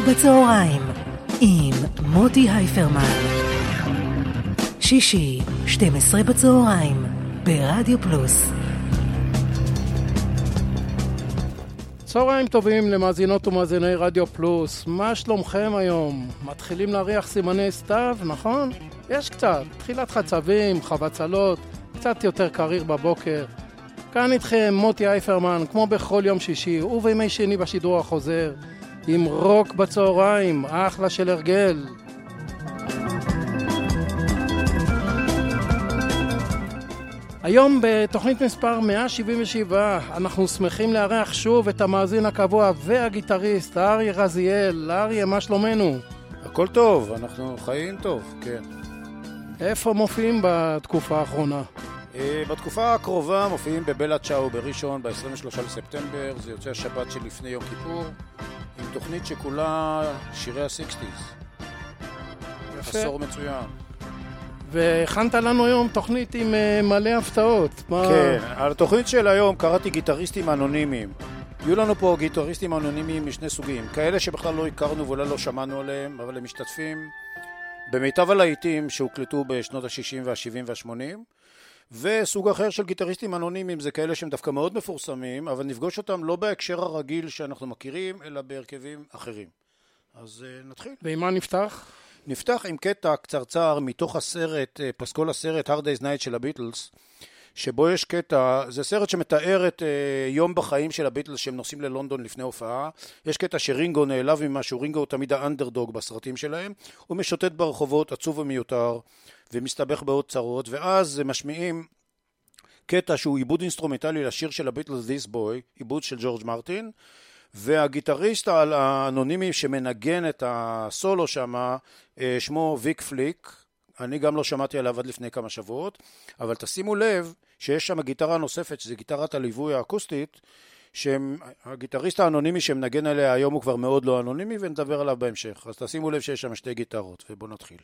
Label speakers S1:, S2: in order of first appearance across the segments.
S1: בצהריים עם מוטי הייפרמן. שישי, 12 בצהריים, ברדיו פלוס.
S2: צהריים טובים למאזינות ומאזיני רדיו פלוס. מה שלומכם היום? מתחילים להריח סימני סתיו, נכון? יש קצת, תחילת חצבים, חבצלות, קצת יותר קריר בבוקר. כאן איתכם מוטי הייפרמן, כמו בכל יום שישי ובימי שני בשידור החוזר, עם רוק בצהריים, אחלה של הרגל. היום בתוכנית מספר 177 אנחנו שמחים לארח שוב את המאזין הקבוע והגיטריסט אריה רזיאל. אריה, מה שלומנו?
S3: הכל טוב, אנחנו חיים טוב, כן.
S2: איפה מופיעים בתקופה האחרונה?
S3: בתקופה הקרובה מופיעים בבלה צ'או בראשון ב-23 לספטמבר, זה יוצא השבת שלפני יום כיפור, עם תוכנית שכולה שירי ה-60s. עשור מצוין.
S2: והכנת לנו היום תוכנית עם מלא הפתעות.
S3: כן, על התוכנית של היום קראתי גיטריסטים אנונימיים. יהיו לנו פה גיטריסטים אנונימיים משני סוגים, כאלה שבכלל לא הכרנו ואולי לא שמענו עליהם, אבל הם משתתפים במיטב הלהיטים שהוקלטו בשנות ה-60 וה-70 וה-80, וסוג אחר של גיטריסטים אנונימיים זה כאלה שהם דווקא מאוד מפורסמים, אבל נפגוש אותם לא בהקשר הרגיל שאנחנו מכירים, אלא בהרכבים אחרים. אז נתחיל.
S2: ועם מה נפתח?
S3: נפתח עם קטע קצרצר מתוך הסרט, פסקול הסרט Hard Day's Night של הביטלס, שבו יש קטע, זה סרט שמתאר את יום בחיים של הביטלס שהם נוסעים ללונדון לפני הופעה. יש קטע שרינגו נעלב ממשהו, רינגו הוא תמיד האנדרדוג בסרטים שלהם, הוא משוטט ברחובות עצוב ומיותר ומסתבך בעוד צרות, ואז משמיעים קטע שהוא עיבוד אינסטרומנטלי לשיר של הביטלס This Boy, עיבוד של ג'ורג' מרטין, והגיטריסט האנונימי שמנגן את הסולו שמה, שמו ויק פליק. אני גם לא שמעתי עליו עד לפני כמה שבועות, אבל תשימו לב שיש שם גיטרה נוספת, שזה גיטרת הליווי האקוסטית, שהגיטריסט האנונימי שמנגן עליה היום הוא כבר מאוד לא אנונימי, ונדבר עליו בהמשך. אז תשימו לב שיש שם שתי גיטרות, ובואו נתחיל.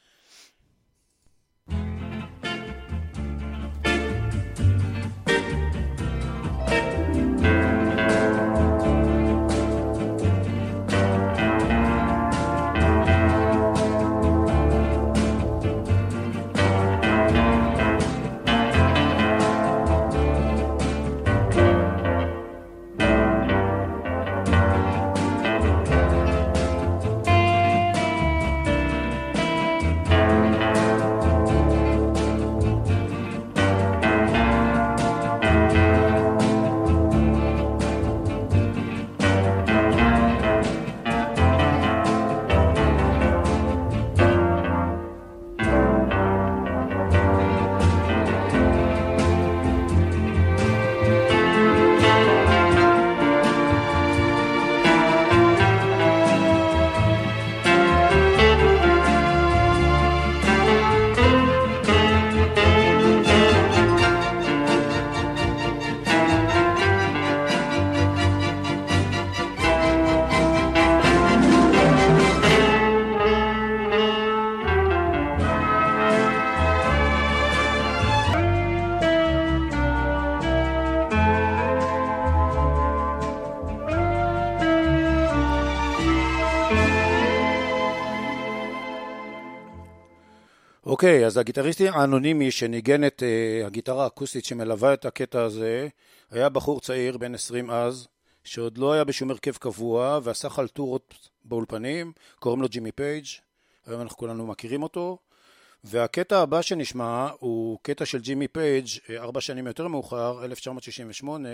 S3: אוקיי, אז הגיטריסטי האנונימי שניגן את הגיטרה האקוסטית שמלווה את הקטע הזה, היה בחור צעיר בן 20 אז, שעוד לא היה בשום הרכב קבוע, ועשה חלטורות באולפנים, קוראים לו ג'ימי פייג', היום אנחנו כולנו מכירים אותו, והקטע הבא שנשמע הוא קטע של ג'ימי פייג' 4 שנים יותר מאוחר, 1968,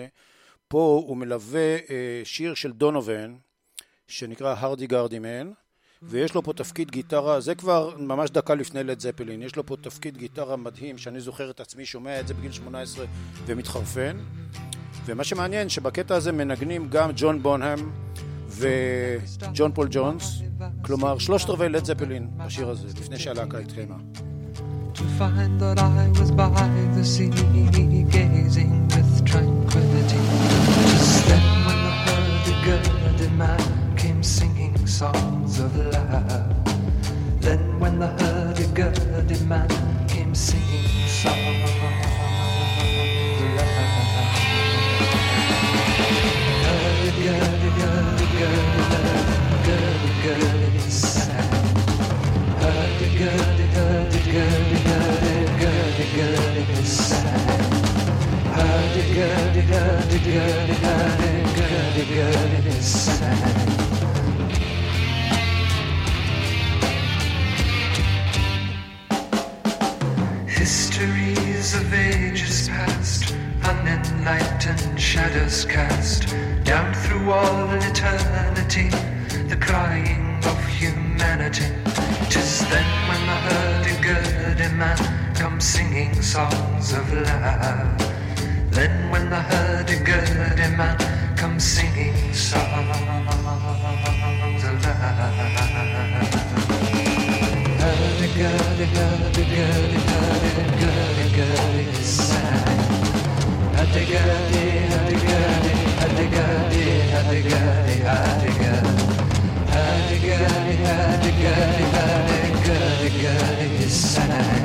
S3: פה הוא מלווה שיר של דונובן, שנקרא הרדי גרדי מן, ויש לו פה תפקיד גיטרה, זה כבר ממש דקה לפני לד זפלין, יש לו פה תפקיד גיטרה מדהים, שאני זוכר את עצמי, שומע את זה בגיל 18 ומתחרפן, ומה שמעניין שבקטע הזה מנגנים גם ג'ון בונהאם וג'ון פול ג'ונס, כלומר 3/4 לד זפלין בשיר הזה, לפני שהלהקה התחילה.
S4: To find that I was by the sea, gazing with tranquility, just then when the hurdy-gurdy man came singing songs of love. Then when the hurdy-gurdy man came singing songs of love. Hurdy-gurdy, gurdy-gurdy, gurdy-gurdy. hurdy-gurdy sang. Hurdy-gurdy, hurdy-gurdy sang. Histories of ages past, unenlightened shadows cast down through all eternity, the crying of humanity. 'Tis then when the hurdy-gurdy man comes singing songs of love. Then when the hurdy-gurdy man comes singing songs of love. Hurdy-gurdy, hurdy-gurdy, hurdy-gurdy sang. Hurdy-gurdy, hurdy-gurdy, hurdy-gurdy, hurdy-gurdy, hurdy-gurdy. Hurdy-gurdy, hurdy-gurdy, hurdy-gurdy sang.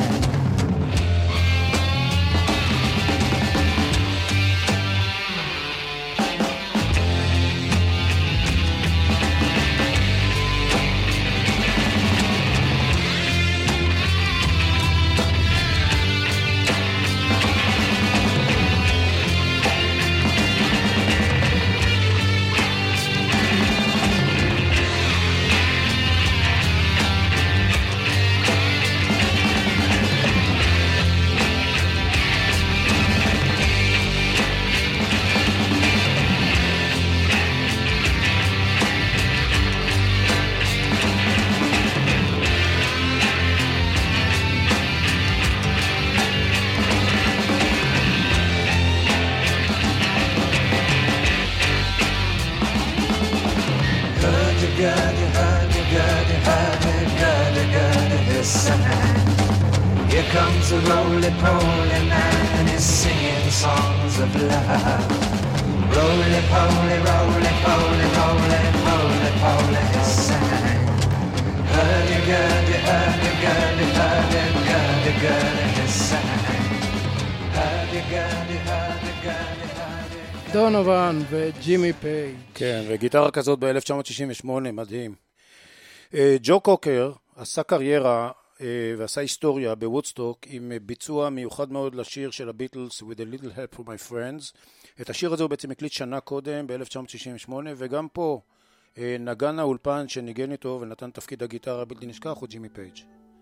S4: Here comes a roly-poly man and he's singing songs of love. Roly-poly, roly-poly, roly-poly, he sang. Hurdy-gurdy, hurdy-gurdy, hurdy-gurdy, he sang. Hurdy-gurdy, hurdy-gurdy, hurdy-gurdy.
S2: דונובן וג'ימי פייג'.
S3: כן, וגיטרה כזאת ב-1968, מדהים. ג'ו קוקר עשה קריירה ועשה היסטוריה בוודסטוק עם ביצוע מיוחד מאוד לשיר של הביטלס With a Little Help from My Friends. את השיר הזה הוא בעצם הקליט שנה קודם ב-1968, וגם פה נגן האולפן שניגן איתו ונתן תפקיד הגיטרה הבלתי נשכח הוא ג'ימי פייג'.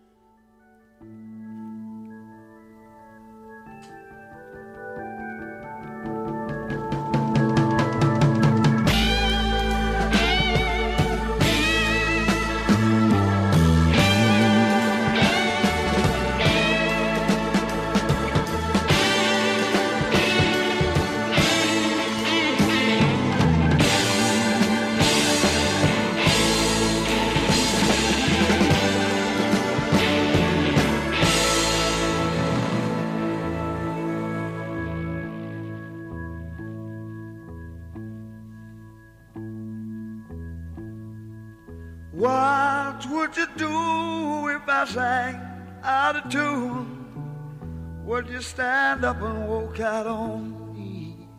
S5: What would you do if I sang out of tune? Would you stand up and walk out on me?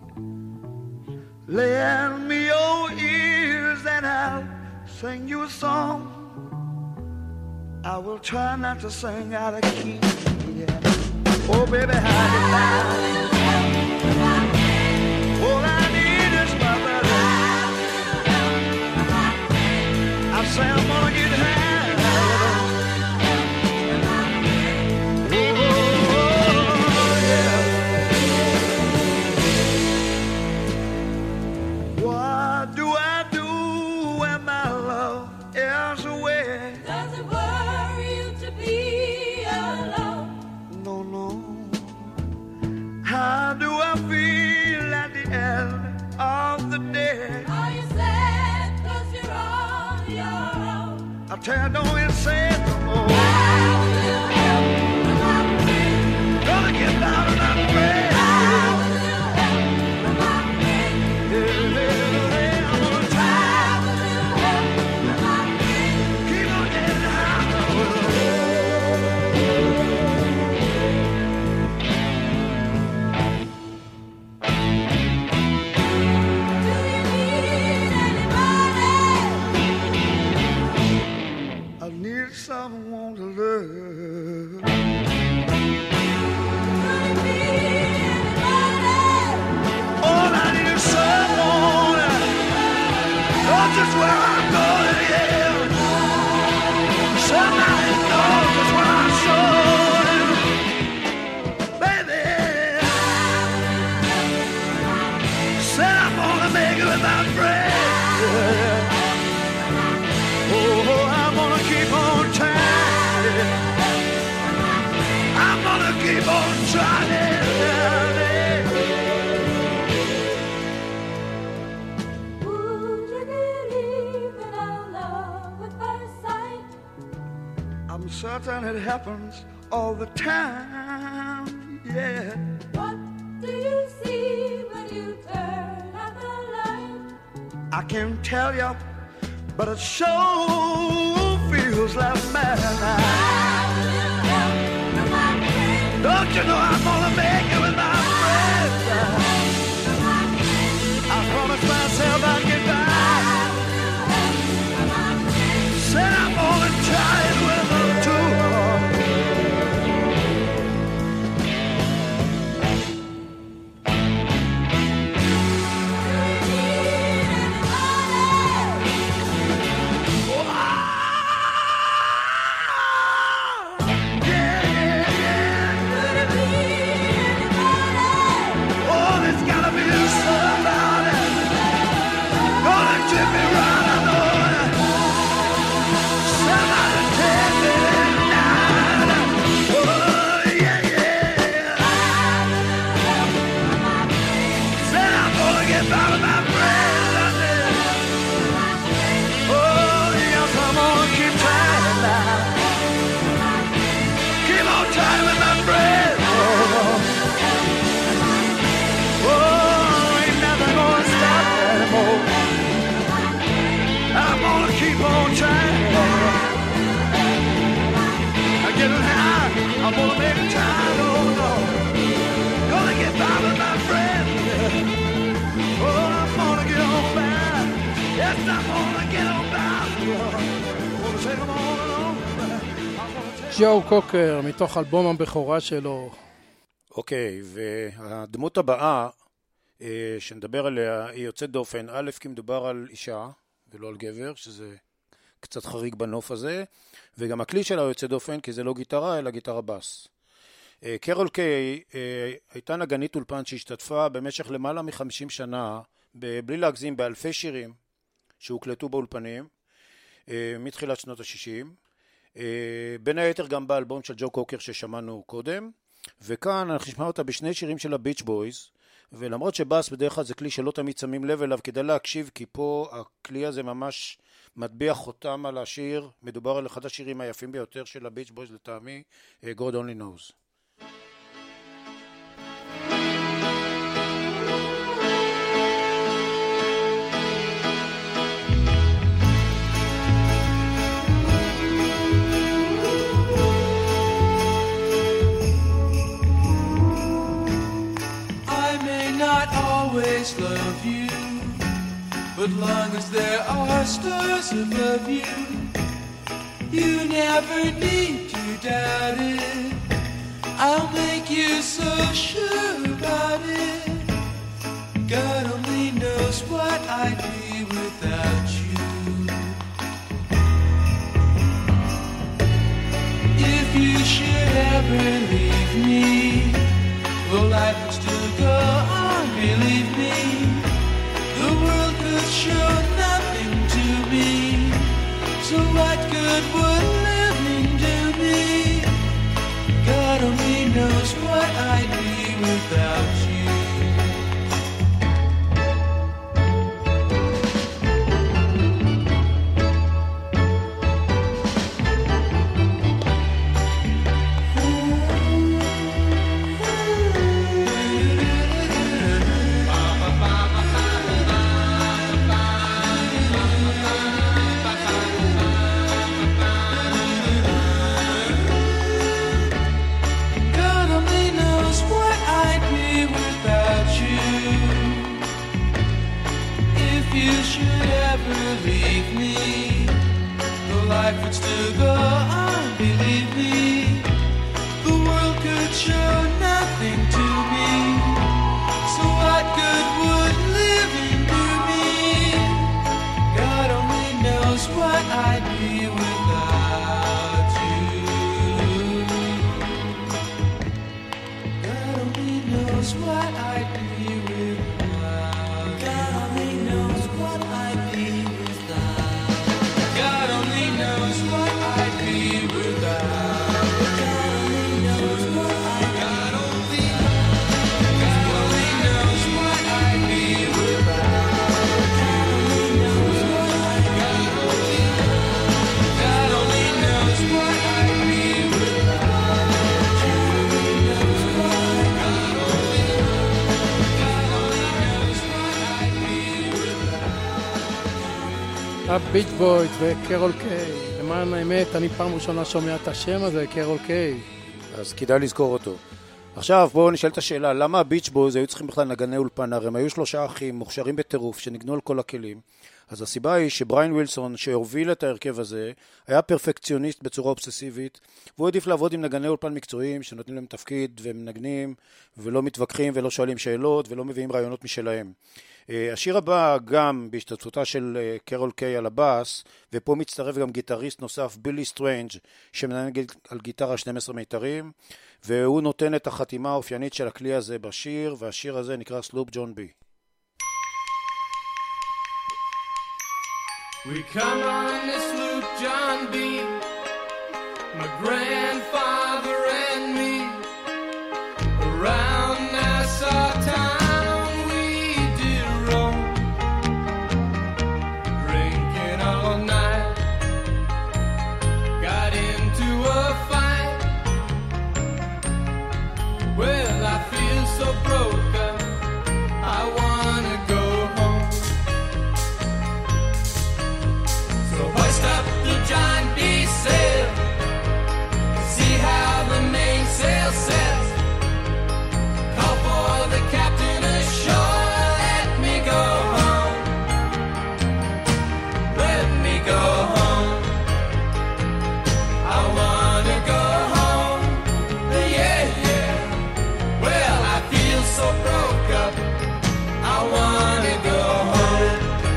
S5: Lend me your ears and I'll sing you a song. I will try not to sing out of key. Yeah. Oh baby, how you like? All I need is my brother. I say I'm gonna get high. Oh, yeah. What do I do when my love is away?
S6: Does it worry you to be alone?
S5: No, no. How do I feel at the end of the day?
S6: Are you sad 'cause you're on your own?
S5: I tell you, don't even say it no more.
S6: How will you help when I'm free?
S5: Gonna get down and I'm free.
S6: How will you help when I'm free?
S5: Yeah, I'm gonna try.
S6: How will you help when I'm free?
S5: Keep on getting down.
S6: Do you need anybody?
S5: I need some trying.
S6: Would you believe in our love at first sight?
S5: I'm certain it happens all the time, yeah.
S6: What do you see when you turn out the light?
S5: I can't tell you, but it sure feels like madness. Don't you know I'm gonna make it with my friends? I promised myself I'd get back. Said I'm gonna try it with them too. Oh, there's gotta be somebody gonna tip me right, I know it. Somebody take me tonight. Oh, yeah, yeah. Said I'm gonna get by with my friends. Oh, yes, I'm gonna keep trying now. Keep on trying with my friends. Oh, ain't nothing gonna stop me anymore. I'm gonna keep on trying. I'm getting high. I'm gonna make a time. Oh no, gonna get by with my friends. Oh, I'm gonna get on by. Yes, I'm gonna get on by. Gonna take them on and on. I'm gonna take
S2: ג'ו קוקר, מתוך אלבום הבכורה שלו.
S3: אוקיי, והדמות הבאה שנדבר עליה היא יוצאת דופן, א' כי מדובר על אישה ולא על גבר, שזה קצת חריג בנוף הזה, וגם הכלי שלה יוצא דופן כי זה לא גיטרה אלא גיטרה בס. קרול קיי הייתה נגנית אולפן שהשתתפה במשך למעלה מ-50 שנה, בלי להגזים, באלפי שירים שהוקלטו באולפנים מתחילת שנות ה-60, בין היתר גם באלבום של ג'ו קוקר ששמענו קודם, וכאן אנחנו נשמע אותה בשני שירים של הביץ' בויז, ולמרות שבאס בדרך כלל זה כלי שלא תמיד שמים לב אליו, כדאי להקשיב כי פה הכלי הזה ממש מטביע חותם על השיר. מדובר על אחד השירים היפים ביותר של הביץ' בויז לטעמי, God Only Knows.
S7: Always love you, but long as there are stars above you, you never need to doubt it. I'll make you so sure about it. God only knows what I'd be without you. If you should ever leave me, well, life would still go on, believe me. The world could show nothing to me, so what good would living do me? God only knows what I'd be without you.
S2: הביץ' בויז וקרול קיי. למען האמת, אני פעם ראשונה שומע את השם הזה, קרול קיי.
S3: אז כדאי לזכור אותו. עכשיו בואו נשאל את השאלה, למה הביץ' בויז היו צריכים בכלל נגני אולפן? הרי הם היו 3 אחים מוכשרים בטירוף שניגנו על כל הכלים. אז הסיבה היא שבריין ווילסון שהוביל את ההרכב הזה היה פרפקציוניסט בצורה אובססיבית, והוא עדיף לעבוד עם נגני אולפן מקצועיים שנותנים להם תפקיד והם מנגנים ולא מתווכחים ולא שואלים שאלות ולא מביאים רעיונות משלהם. השיר הבא גם בהשתתפותה של קרול קיי על הבאס, ופה מצטרף גם גיטריסט נוסף בילי סטרנג' שמנגן על גיטרה 12 מיתרים, והוא נותן את החתימה האופיינית של הכלי הזה בשיר, והשיר הזה נקרא סלופ ג'ון בי.
S7: We come on this sloop, John B. My grandfather and me. Around Nassau town we did roam, drinking all night. Got into a fight. Well, I feel so broke up, I wanna go home. So hoist up the John B. sail, see how the mainsail sets. Call for the captain ashore, let me go home. Let me go home. I wanna go home. Yeah, yeah. Well, I feel so broke up, I wanna go home.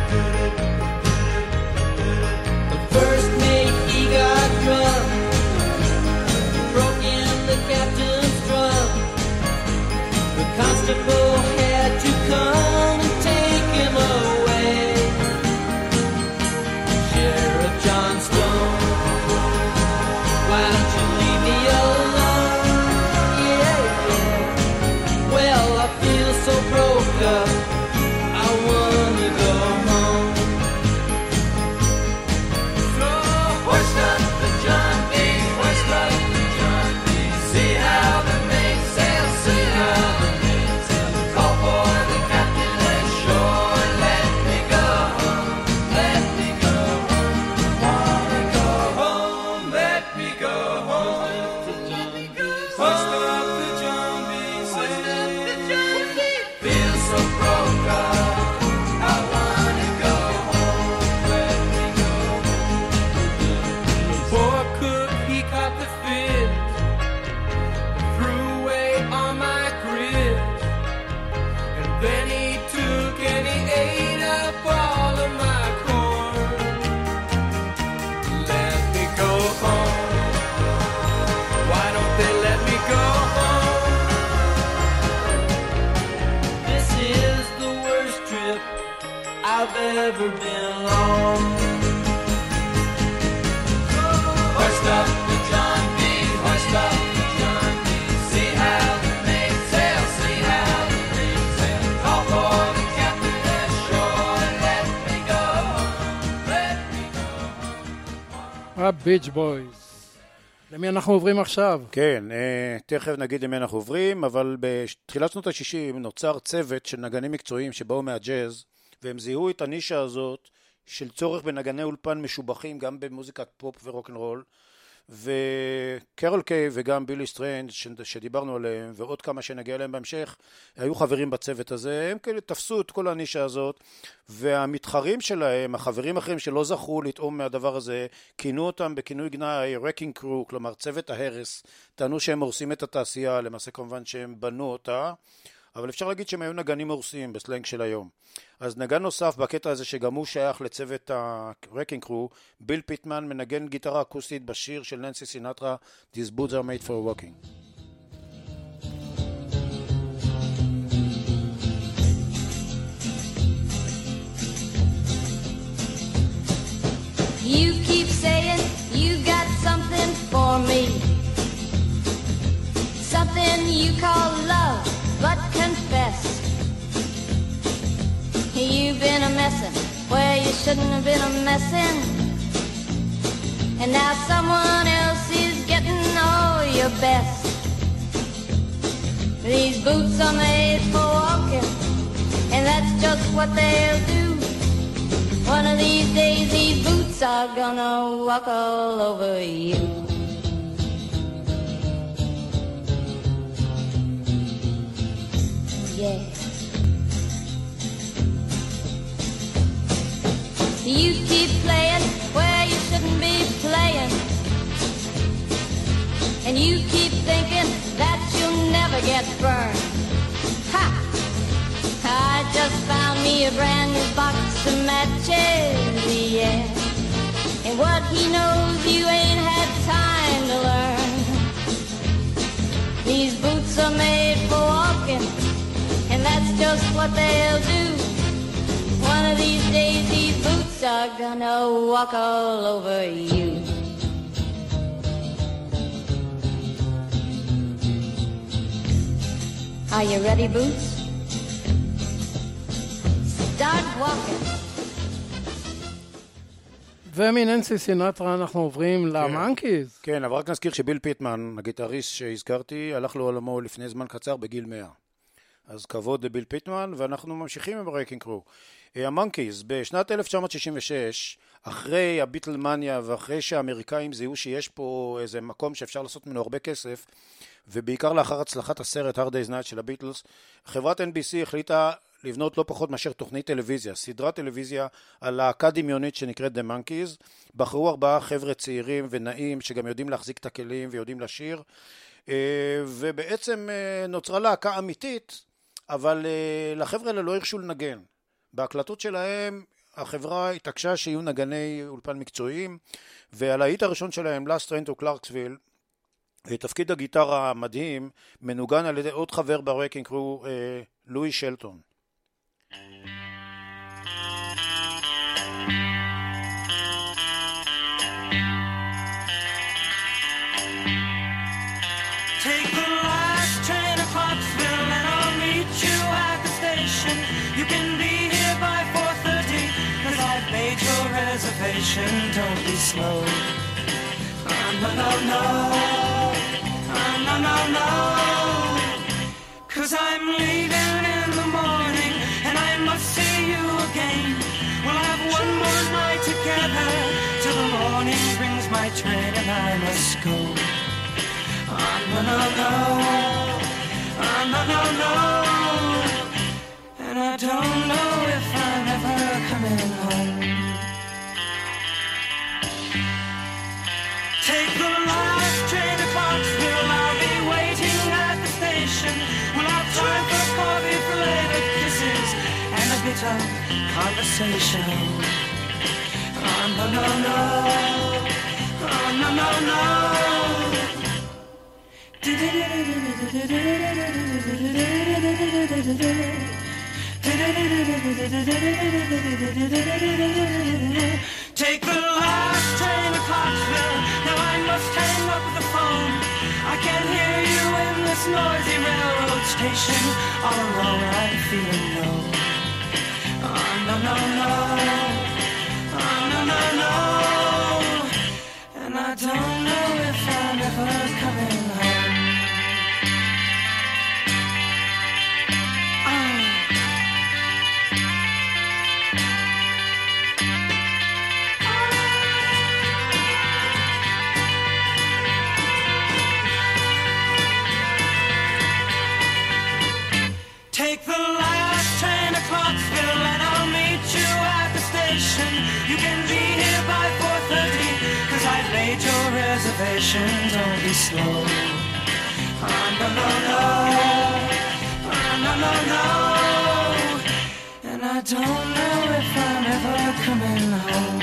S7: The first mate, he got drunk, broke in the captain's drum. The constable had to come and take him away. Sheriff John Stone, why don't you leave me alone? Yeah, yeah. Well, I feel so broke up, I wanna go home. So hoist up the John B, hoist up the John B. See how the mainsail, see how the mainsail. Call for the captain ashore, let me go home, let me go home. Wanna go home, let me go home. Hoist up the John B, hoist up the John B. Feel so broke up, I wanna go home, let me go home. The poor cook, he caught the fish, threw away all my grits, and then he took and he ate up all of my corn. Let me go home. Why don't they let me go home? This is the worst trip I've ever been on. Hoist up the John B, hoist up the John B. See how the mainsail, see how the mainsail. Call for the captain ashore, let me go home, let me go home.
S2: הביץ' בויז. למי אנחנו עוברים עכשיו?
S3: כן, תכף נגיד למי אנחנו עוברים, אבל בתחילת שנות ה-60 נוצר צוות של נגנים מקצועיים שבאו מהג'אז, והם זיהו את הנישה הזאת של צורך בנגני אולפן משובחים גם במוזיקת פופ ורוק'נ'רול, וקרול קיי וגם בילי סטרנג' שדיברנו עליהם ועוד כמה שנגיע אליהם בהמשך היו חברים בצוות הזה. הם כאילו תפסו את כל הנישה הזאת, והמתחרים שלהם, החברים אחרים שלא זכו לטעום מהדבר הזה, כינו אותם בכינוי גנאי Wrecking Crew, כלומר צוות ההרס. טענו שהם הורסים את התעשייה, למעשה כמובן שהם בנו אותה, אבל אפשר להגיד שהם היו נגנים הורסים בסלנג של היום. אז נגן נוסף בקטע הזה שגם הוא שייך לצוות ה-Wrecking Crew, ביל פיטמן, מנגן גיטרה אקוסטית בשיר של ננסי סינטרה, These boots are made for walking.
S6: You keep saying you got something for me, something you call love, but confess you've been a messin' where you shouldn't have been a messin', and now someone else is getting all your best. These boots are made for walking, and that's just what they'll do. One One of these days these boots are gonna walk all over you. Yeah. You keep playing where you shouldn't be playing, and you keep thinking that you'll never get burned. Ha! I just found me a brand new box of matches, yeah. And what he knows you ain't had time to learn. These boots are made for walking, and that's just what they'll do. One of these days these boots are gonna walk all over you. Are you ready, Boots? Start walking.
S2: ומננסי סינטרה אנחנו עוברים למאנקיז.
S3: כן, אבל רק נזכיר שביל פיטמן, הגיטריסט שהזכרתי, הלך לעולמו לפני זמן קצר בגיל 100. אז כבוד לביל פיטמן, ואנחנו ממשיכים עם רייקינג קרו. המאנקיז, בשנת 1966, אחרי הביטלמניה ואחרי שהאמריקאים זיהו שיש פה איזה מקום שאפשר לעשות ממנו הרבה כסף, ובעיקר לאחר הצלחת הסרט Hard Day's Night של הביטלס, חברת NBC החליטה לבנות לא פחות מאשר תוכנית טלוויזיה, סדרת טלוויזיה על להקה דמיונית שנקראת The Monkeys. בחרו 4 חבר'ה צעירים ונעים שגם יודעים להחזיק את הכלים ויודעים לשיר, ובעצם נוצרה להקה אמיתית, אבל לחבר'ה האלה לא הרשו לנגן. בהקלטות שלהם החברה התעקשה שיהיו נגני אולפן מקצועיים, ועל ההיט הראשון שלהם, Last Train to Clarksville, תפקיד הגיטרה המדהים מנוגן על ידי עוד חבר ברייקינג קרו, לואי שלטון.
S8: Take the last train to Clarksville and I'll meet you at the station. You can be here by 4:30 'cause I've made your reservation. Don't be slow. No, no, no. No, no, no. 'Cause I'm leaving in the morning and I must see you again. We'll have one more night together till the morning brings my train and I must go. No, no, no. No, no, no. And I don't know if I'm ever coming home. Take the last train to Clarksville. I'll be waiting at the station. We'll have time for coffee, for later kisses, and a bit of conversation. No, no, no. No, no, no. Take the last train to Clarksville. Now I must hang up the phone. I can't hear you in this noisy railroad station. All alone I'm feeling low. No, no, no. No, no, no. And I don't know if I'm ever coming home. Take the last train to Clarksville and I'll meet you at the station. You can be here by 4:30 'cause I've made your reservation. Don't be slow. No, no, no. No, no, no. And I don't know if I'm ever coming home.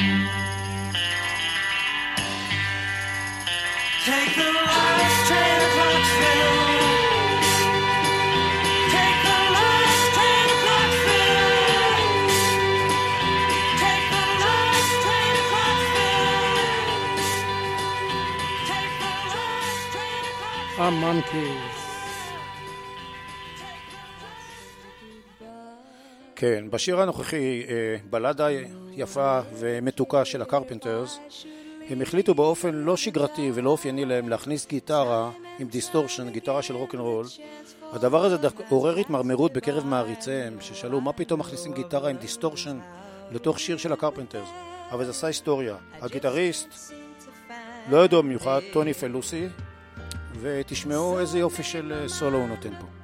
S8: Take the last train to Clarksville.
S2: המאנקיז.
S3: כן, בשיר הנוכחי, בלדה יפה ומתוקה של הקרפנטרס, הם החליטו באופן לא שגרתי ולא אופייני להם להכניס גיטרה עם דיסטורשן, גיטרה של רוק'נ'רול. הדבר הזה עורר התמרמרות בקרב מעריציהם, ששאלו מה פתאום מכניסים גיטרה עם דיסטורשן לתוך שיר של הקרפנטרס, אבל זה עשה היסטוריה. הגיטריסט לא ידוע במיוחד, טוני פלוסי, ותשמעו איזה יופי של סולו הוא נותן פה.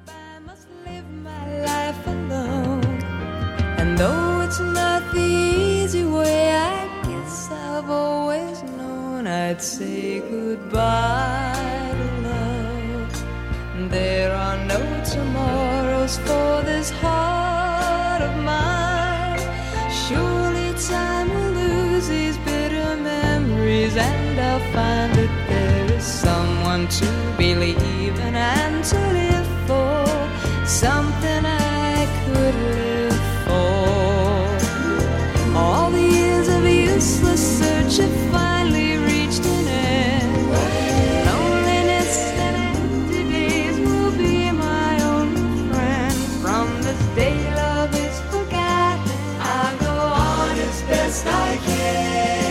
S9: And though it's not the easy way, I guess I've always known I'd say goodbye to love. There are no tomorrows for this heart of mine. Surely time will lose these bitter memories, and I'll find that there is someone to believe in and to live for, something I could live for. All the years of useless search have finally reached an end. Loneliness and empty days will be my only friend. From this day love is forgotten, I'll go on as best I can.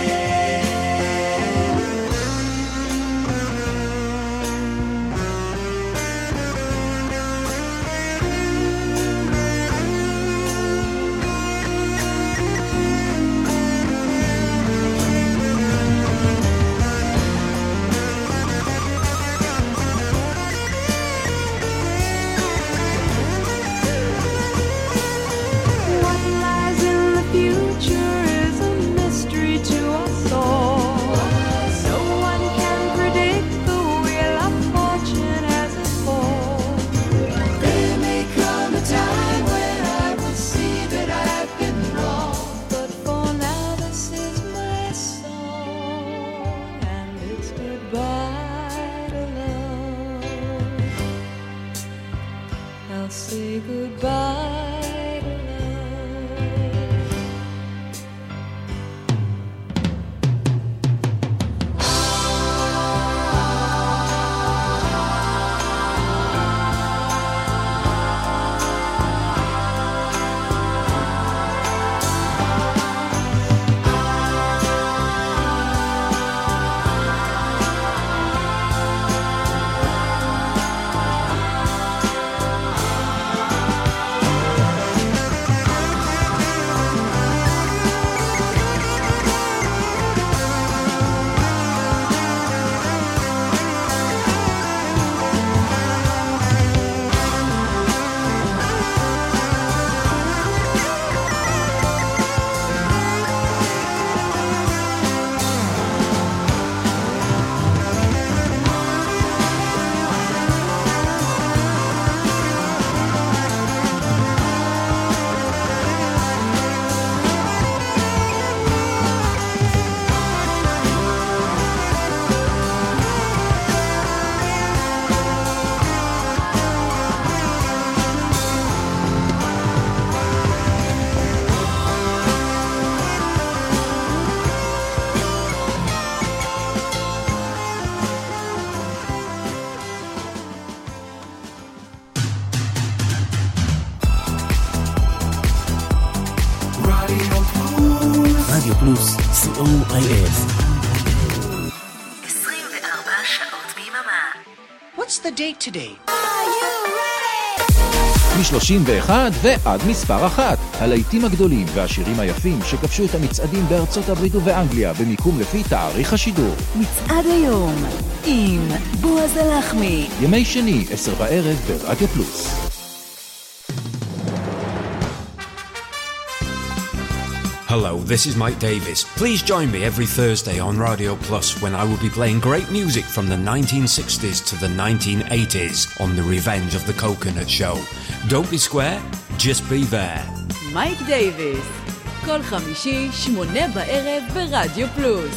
S1: רדיו פלוס, COIF.
S10: 24 שעות ביממה.
S1: What's the date today?
S11: מ-31 ועד מספר 1. הלהיטים הגדולים והשירים היפים שכבשו את המצעדים בארצות הברית ובאנגליה במיקום לפי תאריך השידור.
S1: מצעד היום עם בועז הלחמי.
S11: ימי שני, 10 בערב ברדיו פלוס.
S12: Hello, this is Mike Davis. Please join me every Thursday on Radio Plus when I will be playing great music from the 1960s to the 1980s on The Revenge of the Coconut Show. Don't be square, just be there.
S13: מייק דייביס, כל חמישי, 8 בערב ברדיו פלוס.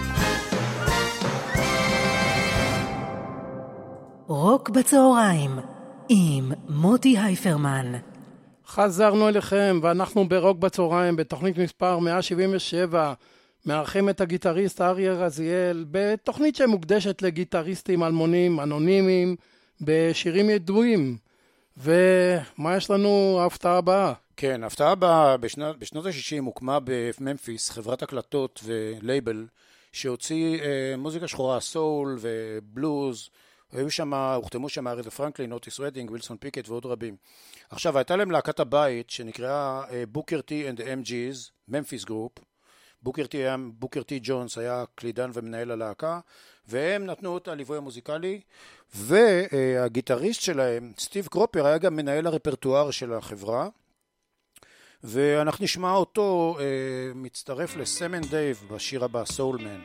S1: רוק בצהריים עם מוטי הייפרמן.
S2: חזרנו אליכם ואנחנו ברוק בצהריים בתוכנית מספר 177 מארחים את הגיטריסט אריה רזיאל בתוכנית שמוקדשת לגיטריסטים אלמונים אנונימיים בשירים ידועים. ומה יש לנו ההפתעה הבאה?
S3: כן, ההפתעה הבאה בשנות ה-60 הוקמה בממפיס חברת הקלטות ולייבל שהוציא מוזיקה שחורה, סול ובלוז. הוחתמו שם אריתה פרנקלין, אוטיס רדינג, וילסון פיקט ועוד רבים. עכשיו, הייתה להם להקת הבית שנקראה בוקר טי אנד ה-MGs ממפיס גרופ. בוקר טי ג'ונס היה קלידן ומנהל הלהקה, והם נתנו את הליווי המוזיקלי, והגיטריסט שלהם, סטיב קרופר, היה גם מנהל הרפרטואר של החברה, ואנחנו נשמע אותו מצטרף לסם אנד דייב בשיר הבא, סול מן.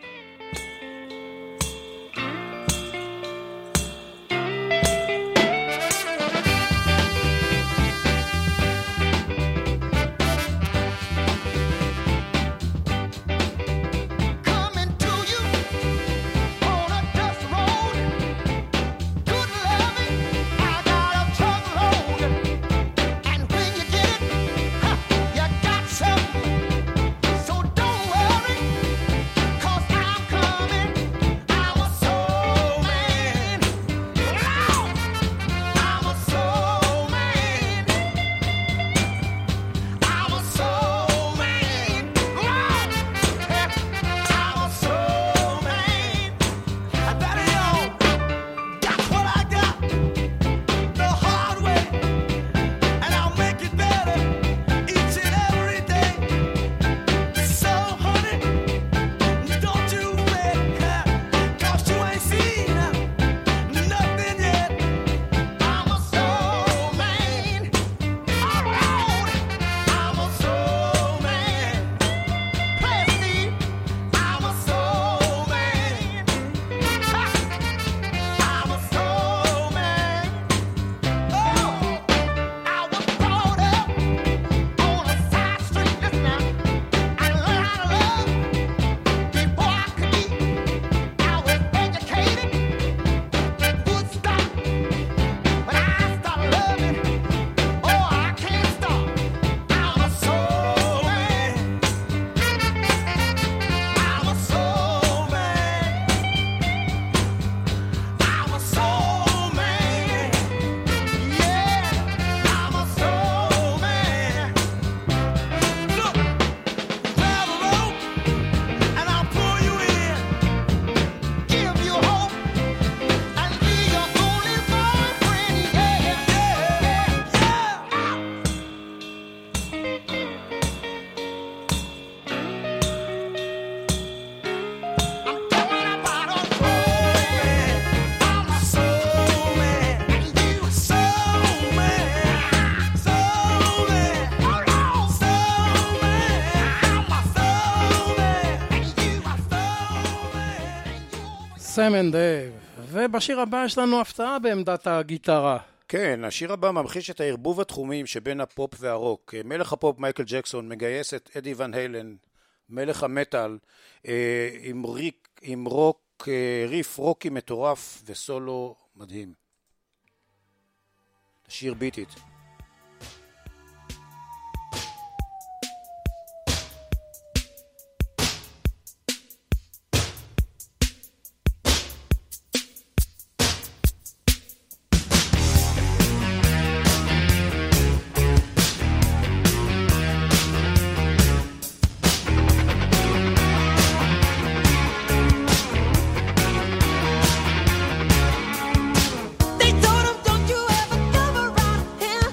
S2: סם אנד דייב, ובשיר הבא יש לנו הפתעה בעמדת הגיטרה.
S3: כן, השיר הבא ממחיש את הערבוב התחומים שבין הפופ והרוק. מלך הפופ מייקל ג'קסון מגייס את אדי ון היילן, מלך המטל, עם ריף רוקי מטורף וסולו מדהים. השיר ביט איט.
S14: They told him, don't you ever come around here.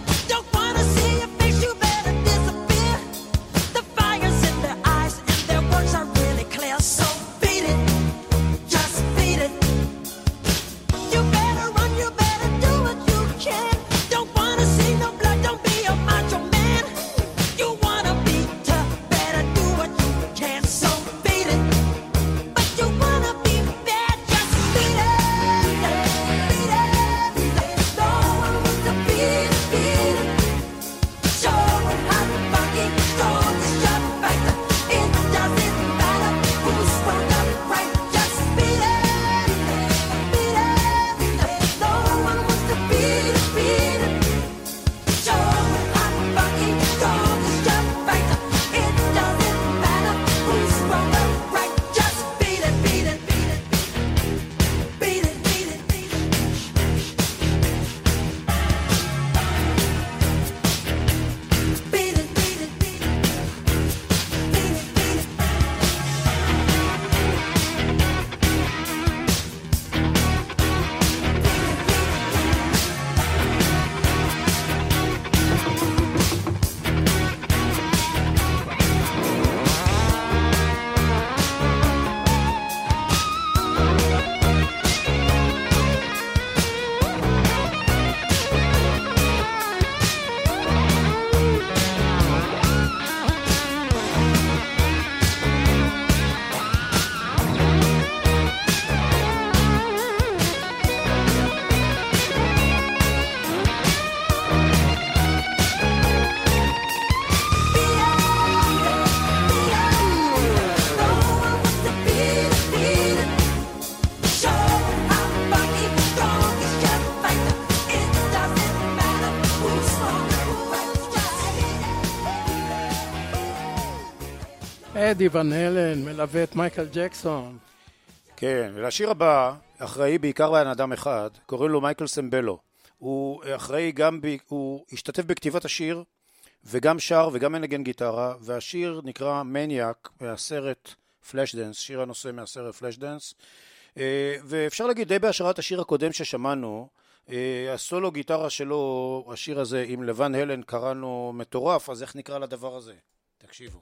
S2: אדי ון הלן מלווה את מייקל ג'קסון.
S3: כן, ולשיר הבא אחראי בעיקר בן אדם אחד, קוראים לו מייקל סמבלו. הוא אחראי גם, הוא השתתף בכתיבת השיר, וגם שר וגם מנגן גיטרה, והשיר נקרא מניאק מהסרט פלאש דנס, שיר הנושא מהסרט פלאש דנס, ואפשר להגיד די בהשראת השיר הקודם ששמענו, הסולו גיטרה שלו, השיר הזה עם לבן הלן קראנו מטורף, אז איך נקרא לדבר הזה? תקשיבו.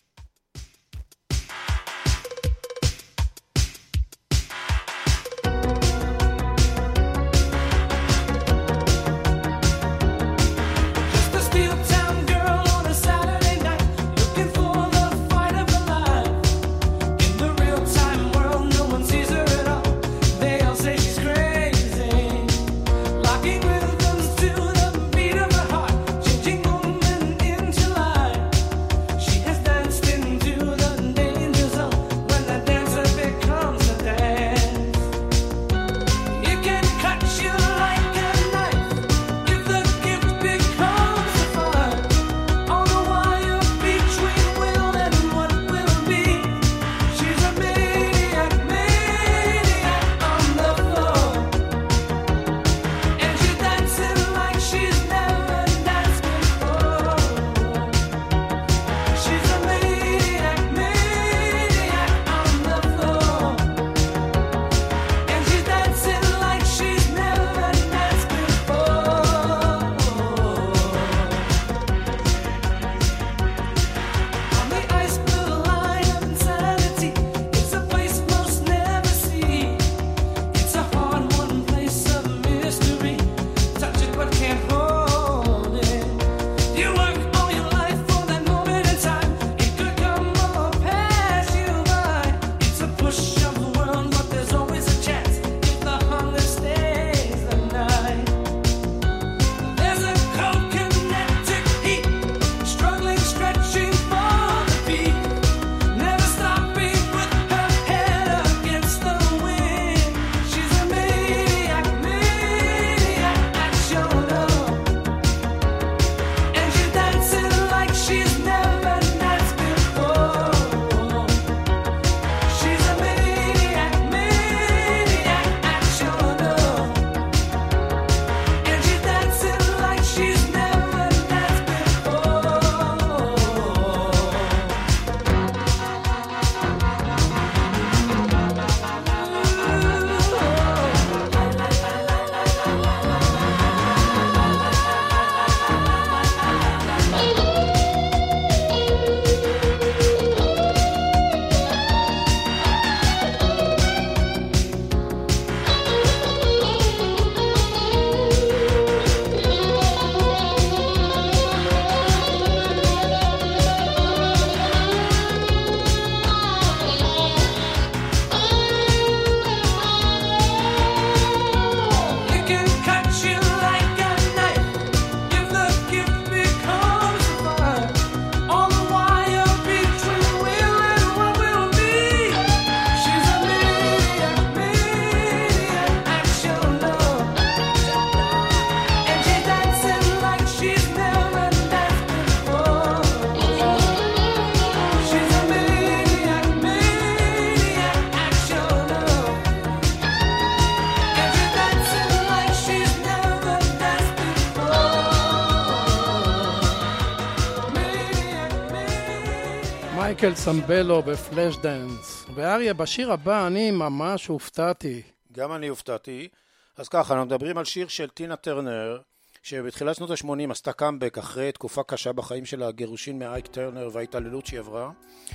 S2: מייקל סמבלו בפלאש דנס. ואריה, בשיר הבא אני ממש הופתעתי.
S3: גם אני הופתעתי. אז ככה, אנחנו מדברים על שיר של טינה טרנר, שבתחילת שנות ה-80 עשתה קאמבק אחרי תקופה קשה בחיים של הגירושין מאייק טרנר וההתעללות שהיא עברה.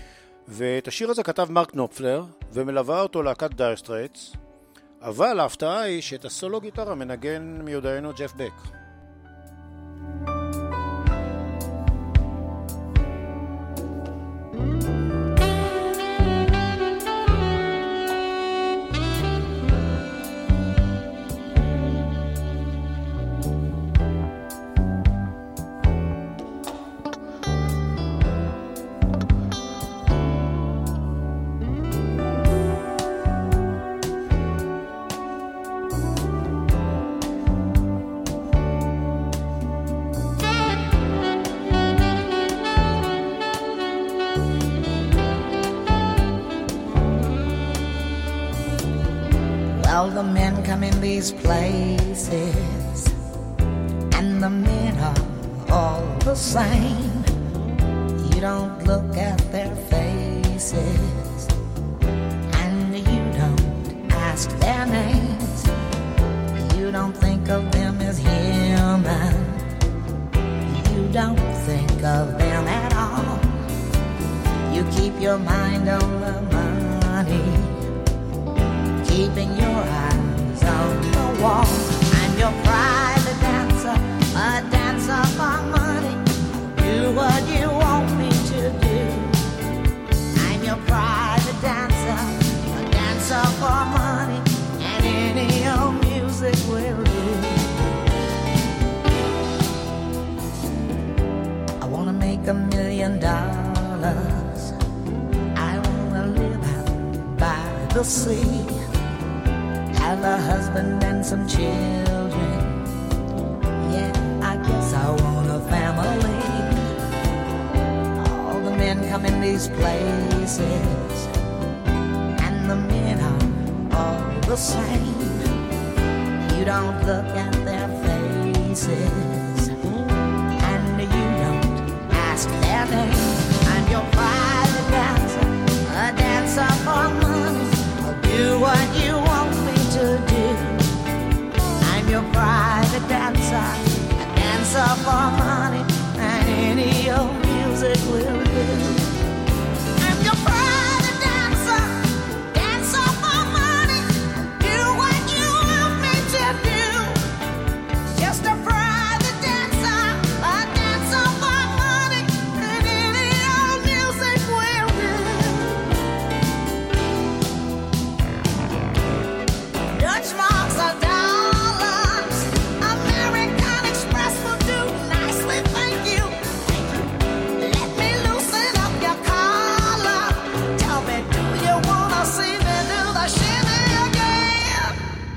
S3: ואת השיר הזה כתב מרק נופלר, ומלווה אותו להקת דייר סטרייטס. אבל ההפתעה היא שאת הסולו גיטרה מנגן מיודענו ג'ף בק.
S14: these places, and the men are all the same. You don't look at their faces, and you don't ask their names. You don't think of them as human. You don't think of them at all. You keep your mind on the money, keeping your eyes on the wall. I'm your private dancer, a dancer for money. Do what you want me to do. I'm your private dancer, a dancer for money, and any old music will do. I wanna make $1 million. I wanna live out by the sea, have a husband and some children. Yeah, I guess I want a family. All the men come in these places, and the men are all the same. You don't look at their faces, and you don't ask their name. I'm your private dancer, a dancer for money. I'll do what you want me to do. I'm your private dancer, a dancer for money, and any old music will do. I'm your private dancer, dancer for money. Do what you want me to do. Just a private dancer, a dancer for money, and any old music will do. Dutch marks are dollars, American Express will do nicely, thank you. Let me loosen up your collar. Tell me, do you wanna see me do the shimmy again?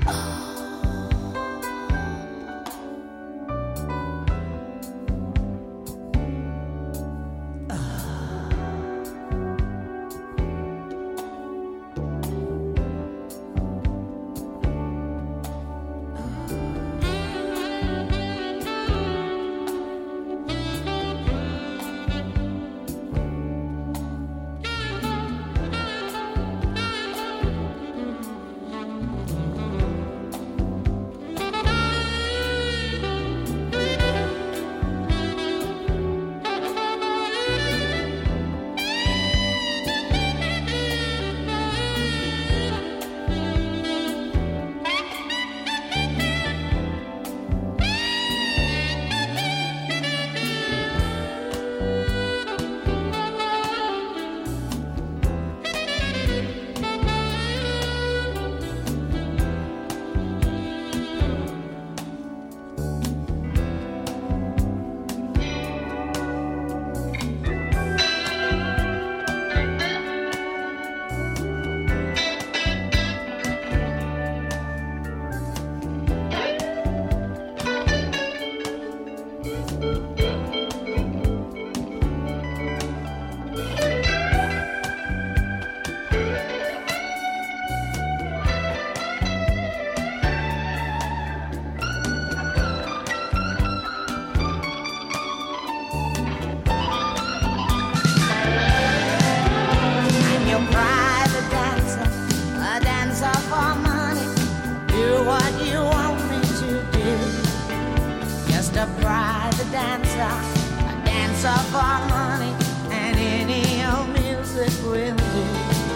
S14: I'm your private dancer, a dancer for money. Do what you want me to do. Just a private dancer, a dancer for money, and any old music will do.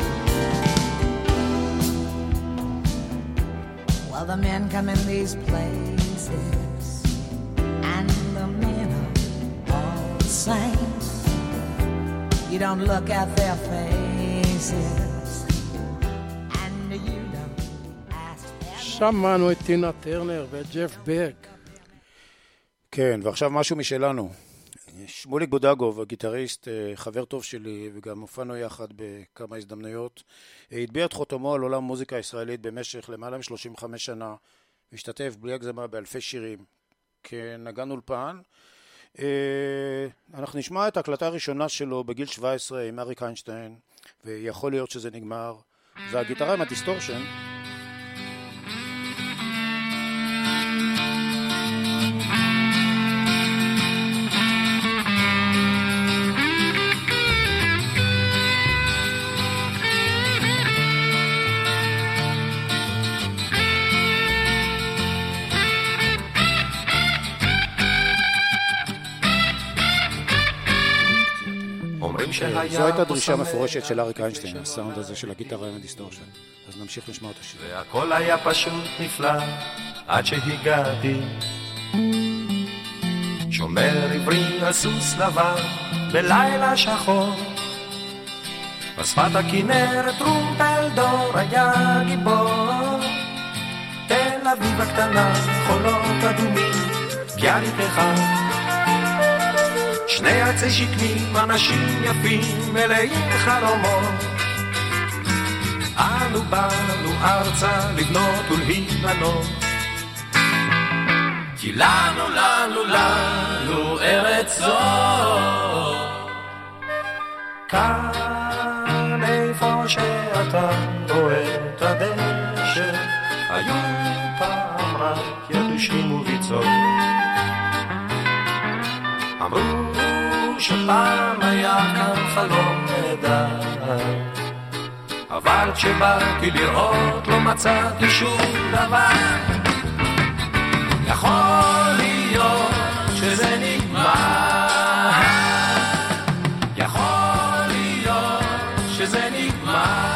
S14: Well, the men come in these places, and the men are all the same. You don't look at their faces, and you don't ask their
S2: שמענו את טינה טרנר וג'ף בק.
S3: כן, ועכשיו משהו משלנו. שמוליק בודגוב, הגיטריסט, חבר טוב שלי, וגם הופענו יחד בכמה הזדמנויות, הטביע את חותמו על עולם מוזיקה ישראלית במשך למעלה מ-35 שנה, והשתתף בלי הגזמה באלפי שירים כנגן אולפן. אנחנו נשמע את ההקלטה הראשונה שלו בגיל 17 עם אריק איינשטיין, ויכול להיות שזה נגמר, והגיטרה עם הדיסטורשן. זו הייתה דרישה מפורשת של אריק איינשטיין, הסאונד הזה של הגיטרה עם הדיסטורשן. אז נמשיך לשמוע את השיר.
S15: והכל היה פשוט נפלא עד שהגעתי, שומר עברי על סוס לבן בלילה שחור, בשפת הכנרת טרומפלדור היה גיבור. תל אביב הקטנה, חולות אדומים, ביאליק אחד, שני עצי שקמים, אנשים יפים מלאים חלומות. אנו באנו ארצה לבנות ולהיבנות, כי לנו ארץ זו. כאן איפה שאתה רואה את הדשא, היו פעם רק יתושים וביצות. אמרו שפעם היה כאן חלום נהדר, אבל כשבאתי לראות לא מצאתי שום דבר. יכול להיות שזה נגמר, יכול להיות שזה נגמר.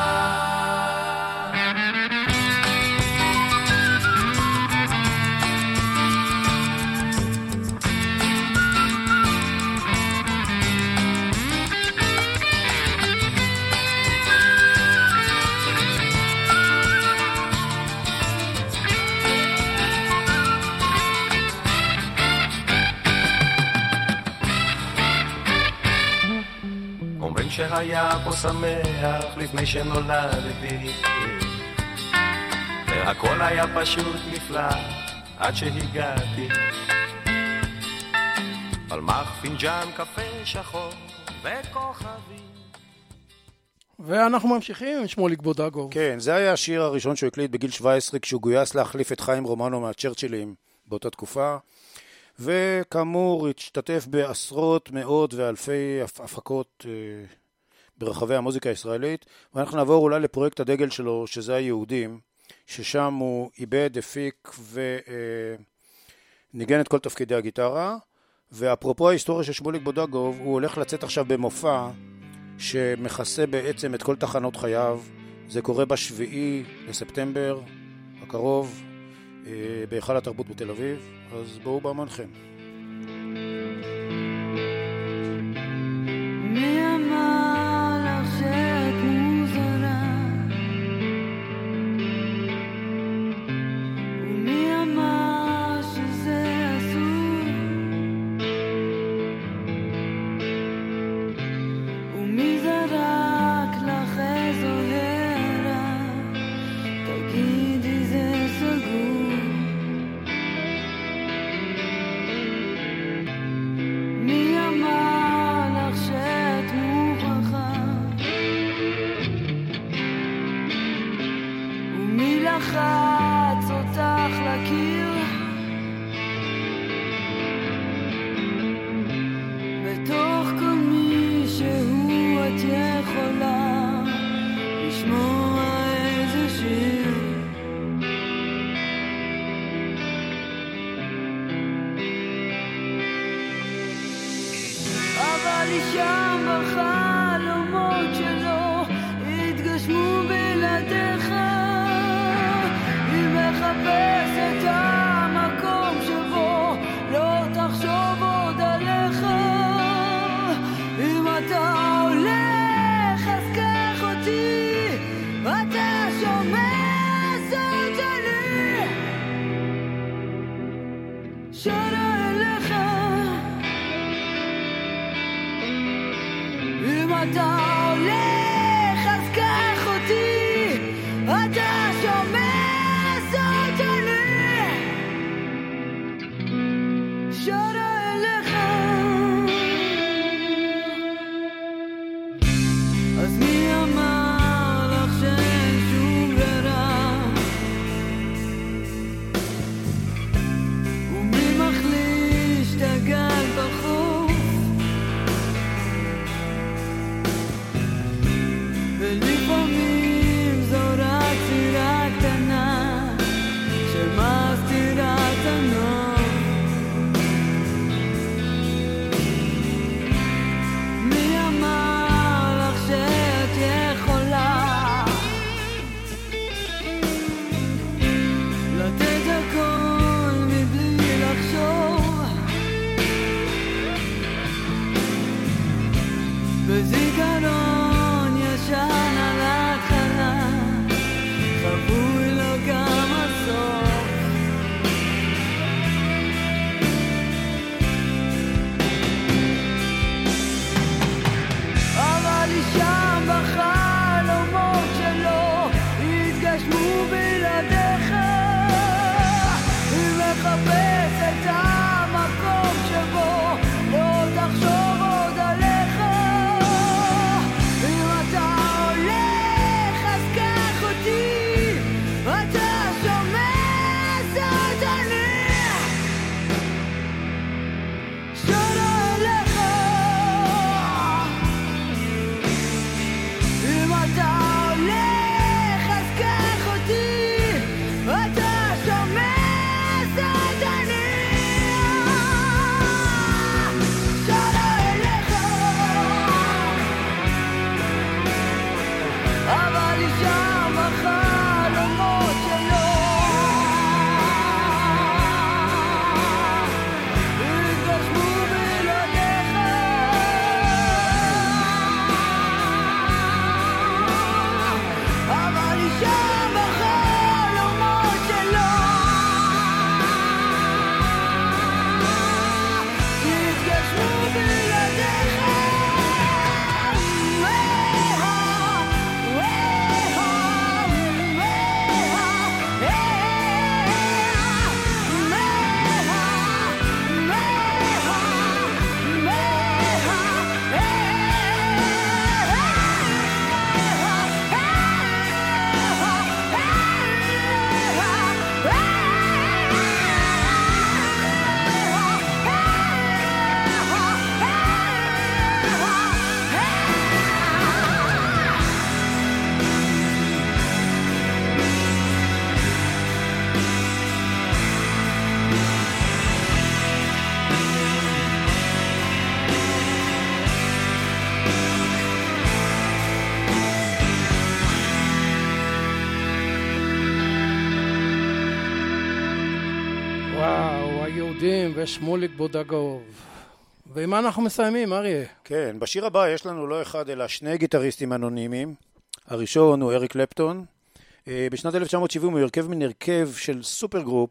S15: שהיה פה שמח לפני שנולדתי, והכל היה פשוט נפלא עד שהגעתי. פלמח, פינג'אן, קפה שחור וכוכבים.
S2: ואנחנו ממשיכים עם שמוליק בודגוב.
S3: כן, זה היה השיר הראשון שהוא הקליט בגיל 17 כשהוא גויס להחליף את חיים רומנו מהצ'רצ'ילים באותה תקופה, וכאמור השתתף בעשרות, מאות ואלפי הפקות ברחבי המוזיקה הישראלית. ואנחנו נעבור אולי לפרויקט הדגל שלו, שזה היהודים, ששם הוא איבד, הפיק וניגן את כל תפקידי הגיטרה. ואפרופו ההיסטוריה של שמוליק בודגוב, הוא הולך לצאת עכשיו במופע שמכסה בעצם את כל תחנות חייו. זה קורה ב7 לספטמבר הקרוב בהיכל התרבות בתל אביב, אז בואו באמנכם.
S16: מי אמר לך שאת מוזרה, ומי אמר שזה אסור, ומי זרק לך איזו הערה, תגידי זה סגור. מי אמר לך שאת מוכרחה, ומי לחץ אותך לקיר, בתוך כל מי שהוא את יכולה לשמוע איזה שיר. אבל היא שם בחלומות שלו התגשמו בלעדיך, היא מחפשת את המקום שבו לא תחשוב עוד עליך. אם אתה הולך אז קח אותי, אתה שומע זאת שלי, שרה אליך. אם אתה הולך אז קח אותי, אתה שומע זאת שלי, שרה אליך. אז מי אמר לך שאין שום ברירה, ומי מחליש את הגל בחוף, בזיכרון ישן על ההתחלה, חבוי לו גם הסוף. אבל היא שם בחלומות שלו, התגשמו בלעדיך. היא מחפשת את המקום שבו לא תחשוב עוד עליך. אם אתה הולך אז קח אותי, אתה שומע זאת אני שרה אליך. אם אתה הולך אז קח אותי, אתה שומע זאת אני שרה אליך. אבל היא שם בחלומות שלו, התגשמו בלעדיך. אבל היא שם בחלומות שלו, התגשמו בלעדיך.
S2: וואו, היהודים ושמוליק בודגוב. ועם מה אנחנו מסיימים, אריה?
S3: כן, בשיר הבא יש לנו לא אחד אלא שני גיטריסטים אנונימיים. הראשון הוא אריק קלפטון. בשנת 1970 הוא הרכב מן הרכב של סופר גרופ,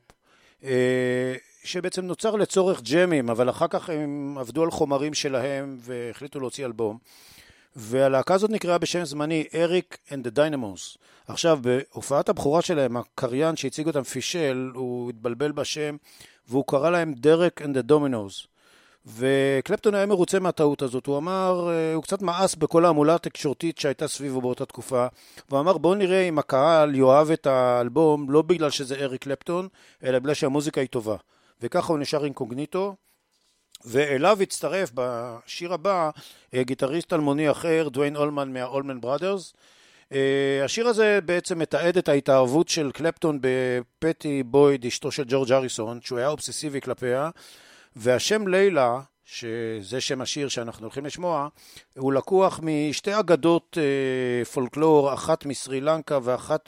S3: שבעצם נוצר לצורך ג'מים, אבל אחר כך הם עבדו על חומרים שלהם והחליטו להוציא אלבום. והלהקה הזאת נקראה בשם זמני אריק and the Dynamos. עכשיו, בהופעת הבכורה שלהם, הקריין שהציג אותם פישל, הוא התבלבל בשם, והוא קרא להם דרק and the Dominos. וקלפטון היה מרוצה מהטעות הזאת. הוא אמר, הוא קצת מאס בכל העמולה התקשורתית שהייתה סביבו באותה תקופה, והוא אמר, בואו נראה אם הקהל יאהב את האלבום, לא בגלל שזה אריק קלפטון, אלא בגלל שהמוזיקה היא טובה. וככה הוא נשאר אינקוגניטו, ואליו הצטרף בשיר הבא גיטריסט אלמוני אחר, דוויין אולמן מהאולמן בראדרס. השיר הזה בעצם מתעד את ההתאהבות של קלפטון בפטי בויד, אשתו של ג'ורג' הריסון, שהוא היה אובססיבי כלפיה, והשם לילה, שזה שם השיר שאנחנו הולכים לשמוע, הוא לקוח משתי אגדות פולקלור, אחת מסרי לנקה ואחת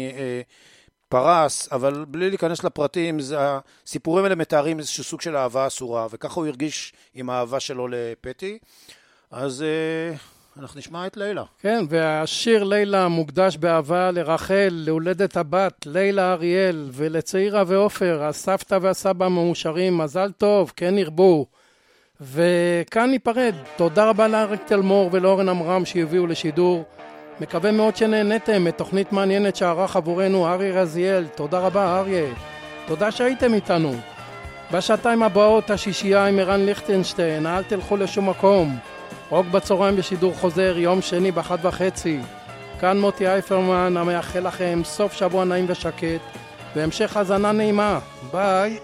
S3: פרס, אבל בלי להיכנס לפרטים, הסיפורים האלה מתארים איזשהו סוג של אהבה אסורה, וככה הוא הרגיש עם האהבה שלו לפטי. אז אנחנו נשמע את לילה.
S2: כן, והשיר לילה מוקדש באהבה לרחל, להולדת הבת, לילה אריאל, ולצעירה ואופר, הסבתא והסבא מאושרים, מזל טוב, כן ירבו. וכאן ניפרד. תודה רבה לאריק תלמור ולאורן אמרם שהביאו לשידור. מקווה מאוד שנהנתם מתוכנית מעניינת שערך עבורנו אריה רזיאל. תודה רבה אריה. תודה שהייתם איתנו. בשעתיים הבאות השישייה עם ערן ליכטנשטיין. אל תלכו לשום מקום. רוק בצהריים בשידור חוזר יום שני ב13:30. כאן מוטי אייפרמן המאחל לכם סוף שבוע נעים ושקט והמשך האזנה נעימה. ביי.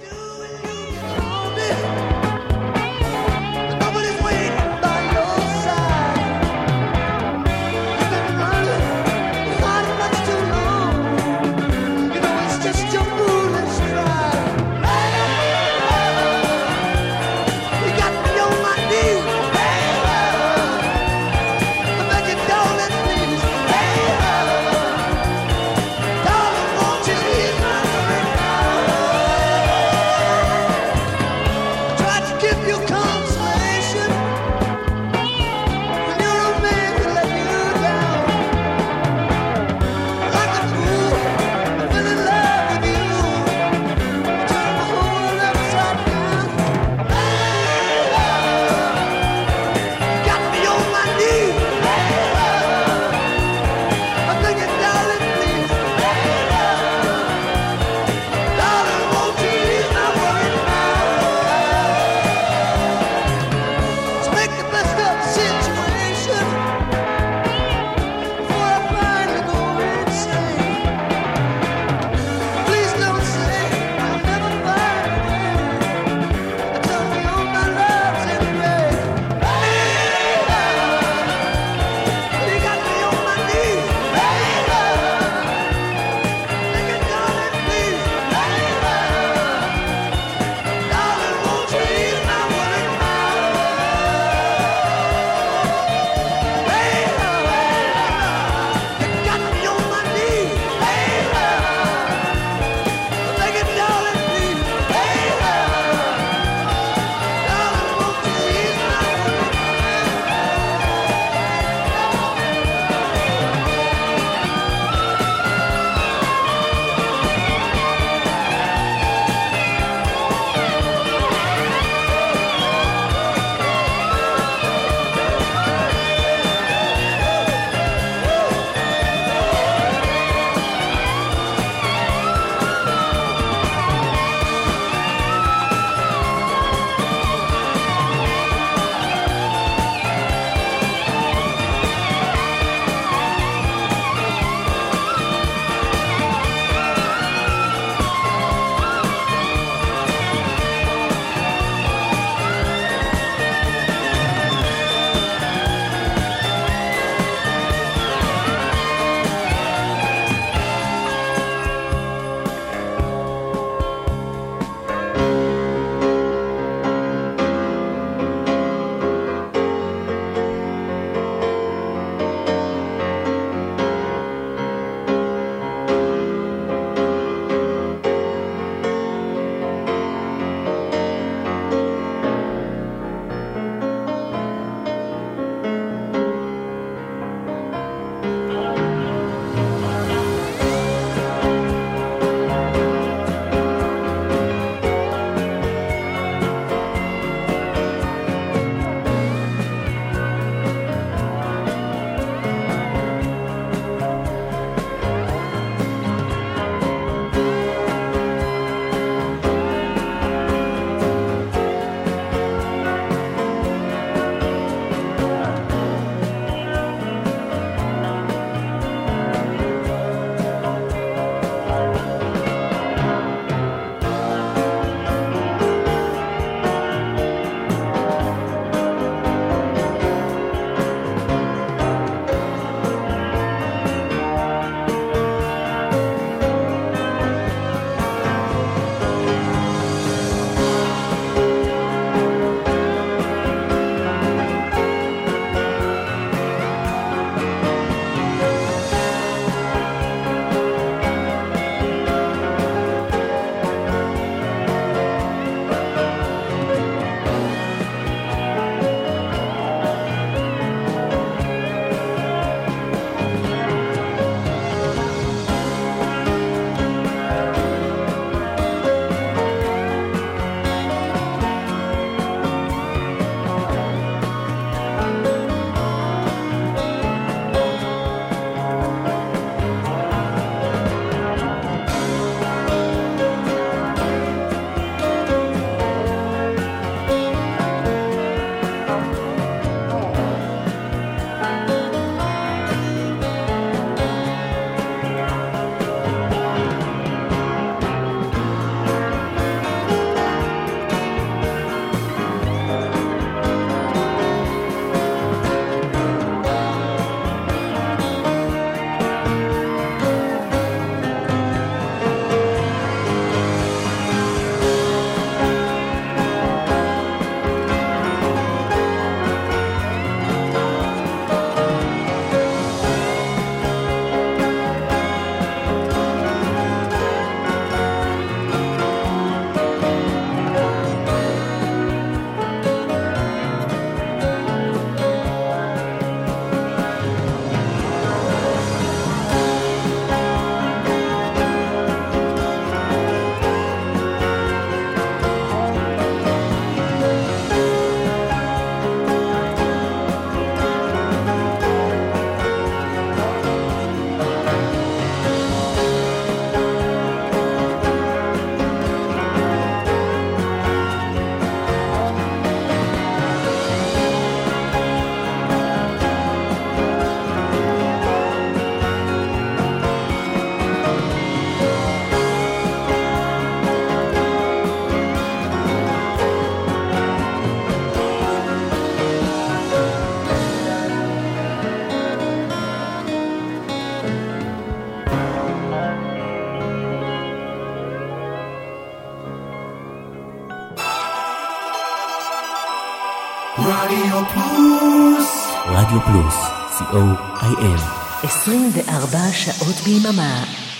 S15: רדיו פלוס.
S1: רדיו פלוס, co.il 24 שעות ביממה.